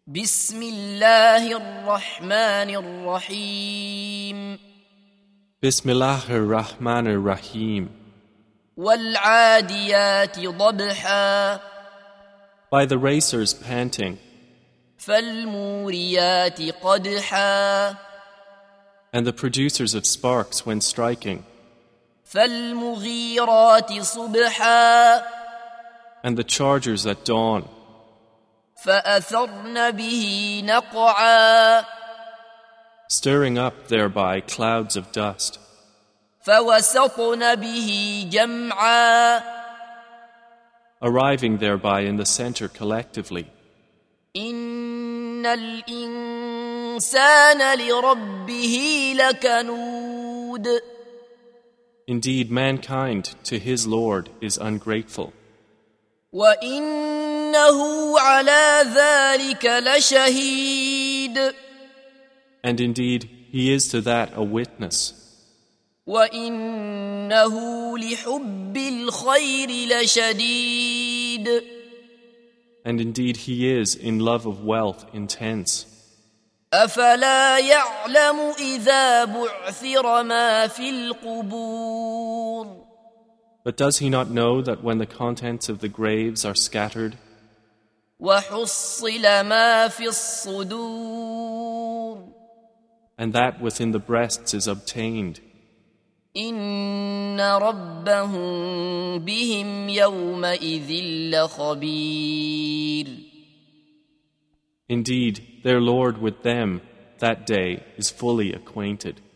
بسم الله الرحمن الرحيم Bismillahir Rahmanir Rahim. والعاديات ضبحا By the racers panting, فالموريات قدحا and the producers of sparks when striking, فالمغيرات صبحا and the chargers at dawn, فأثرن به نقعا stirring up thereby clouds of dust, فوسطن به جمعا arriving thereby in the center collectively. إن الإنسان لربه لكنود Indeed, mankind to his Lord is ungrateful, وإنه على ذلك لشهيد and indeed he is to that a witness, وإنه لحب الخير لشديد and indeed he is in love of wealth intense. أفلا يعلم إذا بعثر ما في القبور But does he not know that when the contents of the graves are scattered, وحصل ما في الصدور and that within the breasts is obtained, إن ربهم بهم يومئذ لخبير indeed their Lord with them that day is fully acquainted.